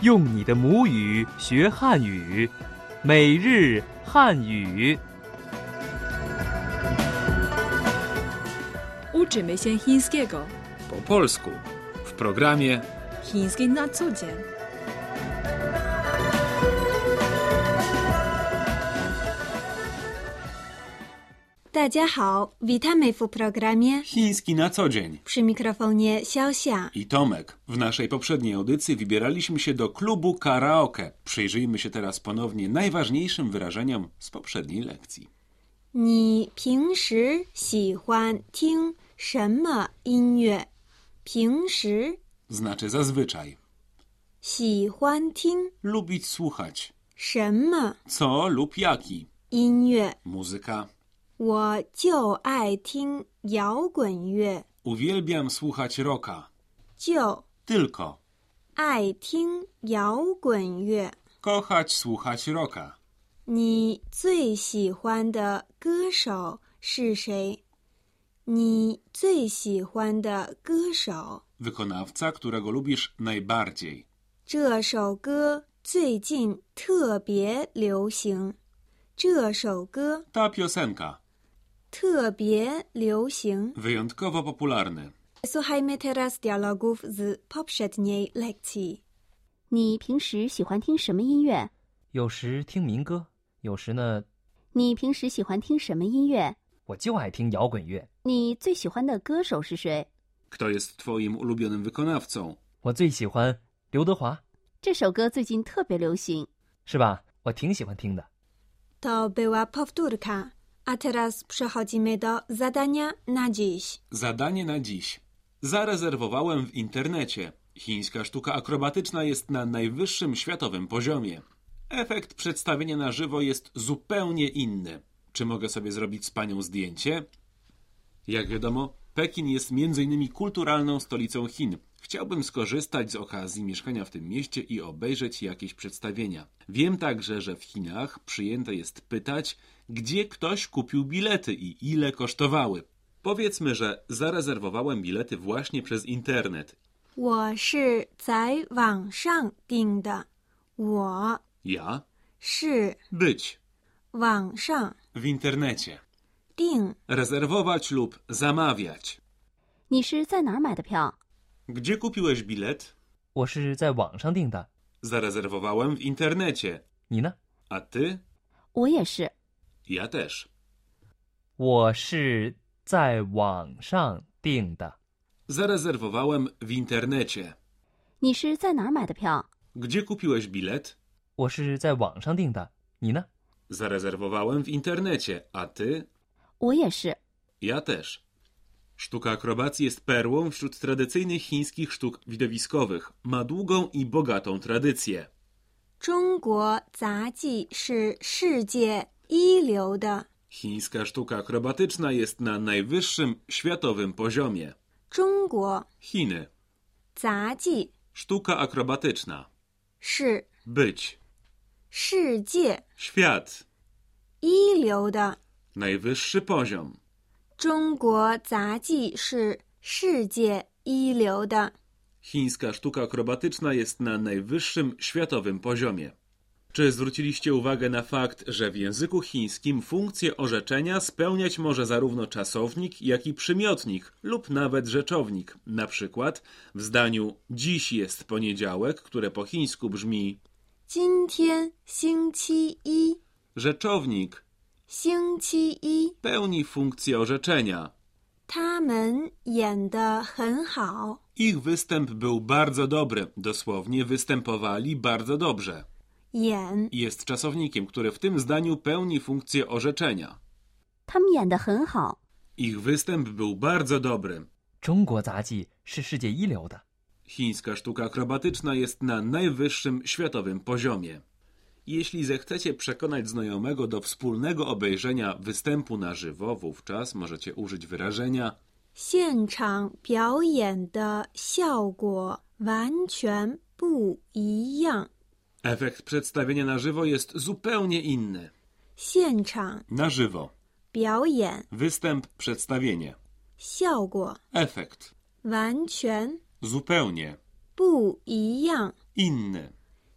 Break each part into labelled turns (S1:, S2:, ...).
S1: 用你的母语学汉语，每日汉语。
S2: Uczymy się chińskiego.
S3: Po polsku w programie
S2: Chiński na co dzień.
S4: Witamy w programie
S3: Chiński na co dzień.
S4: Przy mikrofonie Xiaoxia
S3: I Tomek. W naszej poprzedniej audycji wybieraliśmy się do klubu karaoke. Przyjrzyjmy się teraz ponownie najważniejszym wyrażeniom z poprzedniej lekcji.
S4: 你平时喜欢听什么音乐？平时
S3: Znaczy zazwyczaj.
S4: 喜欢听
S3: Lubić słuchać.
S4: 什么
S3: Co lub jaki.
S4: 音乐？
S3: Muzyka.
S4: 我就爱听摇滚乐。
S3: Uwielbiam słuchać rocka.
S4: 就
S3: Tylko.
S4: 爱听摇滚乐。
S3: Kochać słuchać rocka.
S4: 你最喜欢的歌手是谁？你最喜欢的歌手？
S3: Wykonawca, którego lubisz najbardziej.
S4: 这首歌最近特别流行。这首歌
S3: Ta piosenka.
S4: 特别流行。
S3: Wyjątkowo popularny.
S4: Słuchajmy teraz dialogów z poprzedniej lekcji.
S5: 你平时喜欢听什么音乐？
S1: 有时听民歌，有时呢，
S5: 你平时喜欢听什么音乐？
S1: 我就爱听摇滚乐。
S5: 你最喜欢的歌手是谁？
S3: Kto jest twoim ulubionym wykonawcą?
S1: 我最喜欢刘德华，
S5: 这首歌最近特别流行。
S1: 是吧？我挺喜欢听的。
S4: To była powtórka. A teraz przechodzimy do zadania na dziś.
S3: Zadanie na dziś. Zarezerwowałem w internecie. Chińska sztuka akrobatyczna jest na najwyższym światowym poziomie. Efekt przedstawienia na żywo jest zupełnie inny. Czy mogę sobie zrobić z panią zdjęcie? Jak wiadomo, Pekin jest m.in. kulturalną stolicą Chin. Chciałbym skorzystać z okazji mieszkania w tym mieście i obejrzeć jakieś przedstawienia. Wiem także, że w Chinach przyjęte jest pytać, gdzie ktoś kupił bilety i ile kosztowały. Powiedzmy, że zarezerwowałem bilety właśnie przez internet.
S4: 我是在网上订的。我
S3: Ja?
S4: 是
S3: Być.
S4: 网上
S3: W internecie.
S4: 订
S3: Rezerwować lub zamawiać.
S5: 你是在哪儿买的票？
S3: Gdzie kupiłeś bilet?
S1: 我是在网上订的，
S3: Zarezerwowałem w internecie.
S1: 你呢？
S3: A ty?
S5: 我也是。
S3: Ja też.
S1: 我是在网上订的，
S3: Zarezerwowałem w internecie.
S5: 你是在哪儿买的票？
S3: Gdzie kupiłeś bilet?
S1: 我是在网上订的，你呢？
S3: Zarezerwowałem w internecie. A ty?
S5: 我也是。
S3: Ja też. Sztuka akrobacji jest perłą wśród tradycyjnych chińskich sztuk widowiskowych. Ma długą i bogatą tradycję.
S4: 中国杂技是世界一流的。
S3: Chińska sztuka akrobatyczna jest na najwyższym światowym poziomie.
S4: 中国
S3: Chiny.
S4: 杂技
S3: Sztuka akrobatyczna.
S4: 是
S3: Być.
S4: 世界
S3: Świat.
S4: 一流的。
S3: Najwyższy poziom.
S4: 中国杂技是世界一流的。
S3: Chińska sztuka akrobatyczna jest na najwyższym światowym poziomie. Czy zwróciliście uwagę na fakt, że w języku chińskim funkcję orzeczenia spełniać może zarówno czasownik, jak i przymiotnik lub nawet rzeczownik? Na przykład w zdaniu dziś jest poniedziałek, które po chińsku brzmi
S4: 今天星期一。
S3: rzeczownik
S4: 星期一
S3: pełni funkcję orzeczenia.
S4: 他们演得很好。
S3: Ich występ był bardzo dobry, dosłownie występowali bardzo dobrze.
S4: 演
S3: Jest czasownikiem, który w tym zdaniu pełni funkcję orzeczenia.
S5: 他们演得很好。
S3: Ich występ był bardzo dobry.
S1: 中国杂技是世界一流的。
S3: Chińska sztuka akrobatyczna jest na najwyższym światowym poziomie. Jeśli zechcecie przekonać znajomego do wspólnego obejrzenia występu na żywo, wówczas możecie użyć wyrażenia
S4: 现场表演的效果完全不一样。
S3: efekt przedstawienia na żywo jest zupełnie inny.
S4: 现场
S3: Na żywo.
S4: 表演
S3: Występ, przedstawienie.
S4: 效果
S3: Efekt.
S4: 完全
S3: Zupełnie.
S4: 不一样。
S3: Inny.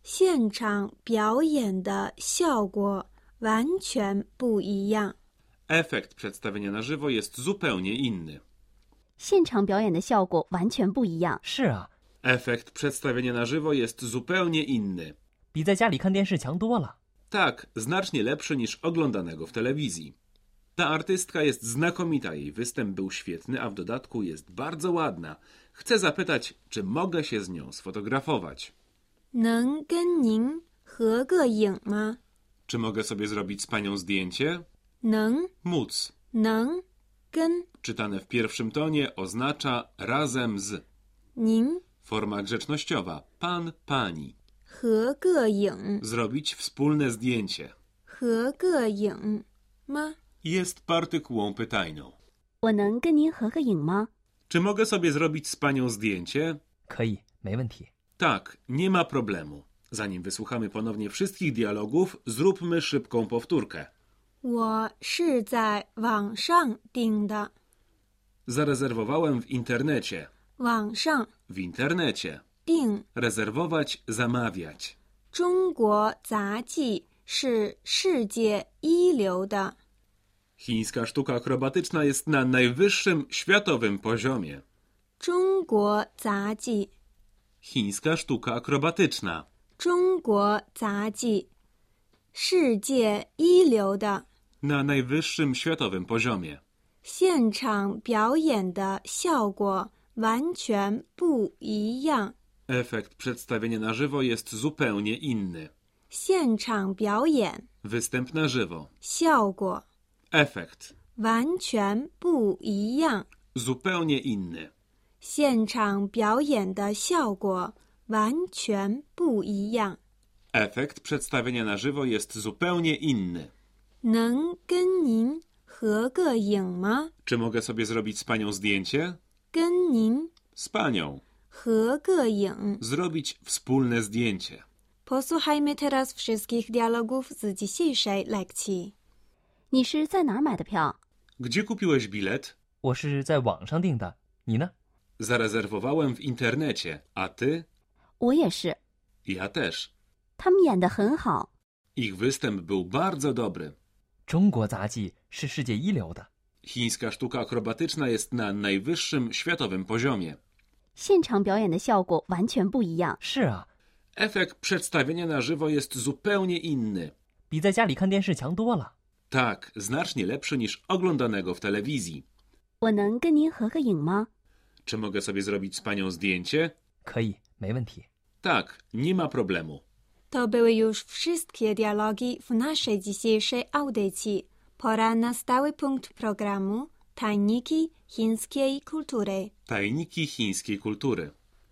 S4: 现场表演的效果完全不一样。
S3: Efekt przedstawienia na żywo jest zupełnie inny.
S5: 现场表演的效果完全不一样。
S1: 是啊，
S3: Efekt przedstawienia na żywo jest zupełnie inny.
S1: 比在家里看电视强多了。
S3: Tak, znacznie lepszy niż oglądanego w telewizji. Ta artystka jest znakomita, jej występ był świetny, a w dodatku jest bardzo ładna. Chcę zapytać, czy mogę się z nią sfotografować?
S4: 能跟您合个影吗？
S3: Czy mogę sobie zrobić z panią zdjęcie?
S4: 能
S3: Móc,
S4: 能跟
S3: czytane w pierwszym tonie, oznacza razem z.
S4: 您
S3: Forma grzecznościowa, pan, pani.
S4: 合个影，
S3: Zrobić wspólne zdjęcie.
S4: 合个影吗？
S3: Jest partykułą pytajną.
S5: 我能跟您合个影吗？
S3: Czy mogę sobie zrobić z panią zdjęcie?
S1: 可以，没问题。
S3: Tak, nie ma problemu. Zanim wysłuchamy ponownie wszystkich dialogów, zróbmy szybką powtórkę.
S4: 我是在网上订的，
S3: Zarezerwowałem w internecie.
S4: 网上
S3: W internecie.
S4: 订
S3: Rezerwować, zamawiać.
S4: 中国杂技是世界一流的。
S3: Chińska sztuka akrobatyczna jest na najwyższym światowym poziomie.
S4: 中国杂技，
S3: Chińska sztuka akrobatyczna.
S4: 中国杂技，世界一流的，
S3: Na najwyższym światowym poziomie.
S4: 现场表演的效果完全不一样。
S3: Efekt przedstawienia na żywo jest zupełnie inny.
S4: 现场表演
S3: Występ na żywo.
S4: 效果
S3: Efekt.
S4: 完全不一样。
S3: Zupełnie inny.
S4: 现场表演的效果完全不一样。
S3: Efekt przedstawienia na żywo jest zupełnie inny.
S4: 能跟您合个影吗？
S3: Czy mogę sobie zrobić z panią zdjęcie?
S4: 跟您
S3: Z panią.
S4: 合个影。
S3: Zrobić wspólne zdjęcie.
S4: Posłuchajmy teraz wszystkich dialogów z dzisiejszej lekcji.
S5: 你是在哪儿买的票？
S3: Gdzie kupiłeś bilet?
S1: 我是在网上订的，你呢？
S3: Zarezerwowałem w internecie. A ty?
S5: 我也是。
S3: Ja też.
S5: 他们演得很好。
S3: Ich występ był bardzo dobry.
S1: 中国杂技是世界一流的。
S3: Chińska sztuka akrobatyczna jest na najwyższym światowym poziomie.
S5: 现场表演的效果完全不一样。
S1: 是啊，
S3: Efekt przedstawienia na żywo jest zupełnie inny.
S1: 比在家里看电视强多了。
S3: Tak, znacznie lepszy niż oglądanego w telewizji.
S5: 我能跟您合个影吗？
S3: Czy mogę sobie zrobić z panią zdjęcie?
S1: 可以，没问题。
S3: Tak, nie ma problemu.
S4: To były już wszystkie dialogi w naszej dzisiejszej audycji. Pora na stały punkt programu Tajniki chińskiej kultury.
S3: Tajniki chińskiej kultury.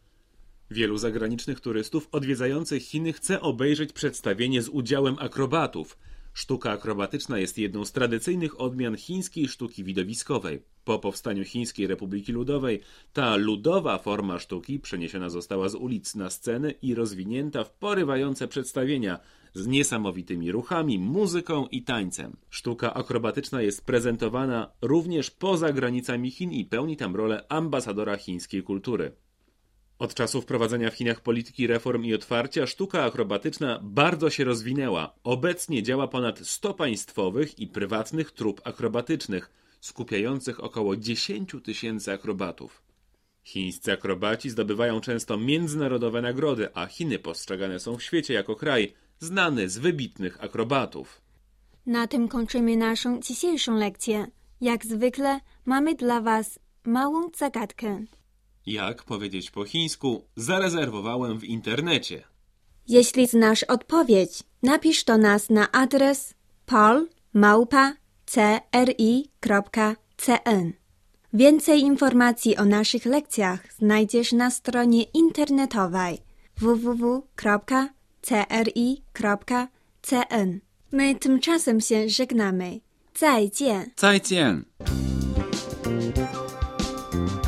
S3: Wielu zagranicznych turystów odwiedzających Chiny chce obejrzeć przedstawienie z udziałem akrobatów. Sztuka akrobatyczna jest jedną z tradycyjnych odmian chińskiej sztuki widowiskowej. Po powstaniu Chińskiej Republiki Ludowej ta ludowa forma sztuki przeniesiona została z ulic na sceny i rozwinięta w porywające przedstawienia z niesamowitymi ruchami, muzyką i tańcem. Sztuka akrobatyczna jest prezentowana również poza granicami Chin i pełni tam rolę ambasadora chińskiej kultury. Od czasu wprowadzenia w Chinach polityki reform i otwarcia sztuka akrobatyczna bardzo się rozwinęła. Obecnie działa ponad 100 państwowych i prywatnych trup akrobatycznych, skupiających około 10 000 akrobatów. Chińscy akrobaci zdobywają często międzynarodowe nagrody, a Chiny postrzegane są w świecie jako kraj znany z wybitnych akrobatów.
S4: Na tym kończymy naszą dzisiejszą lekcję. Jak zwykle mamy dla Was małą zagadkę.
S3: Jak powiedzieć po chińsku, zarezerwowałem w internecie.
S4: Jeśli znasz odpowiedź, napisz do nas na adres pol@cri.cn. Więcej informacji o naszych lekcjach znajdziesz na stronie internetowej www.cri.cn. My tymczasem się żegnamy. 再见。
S6: 再见。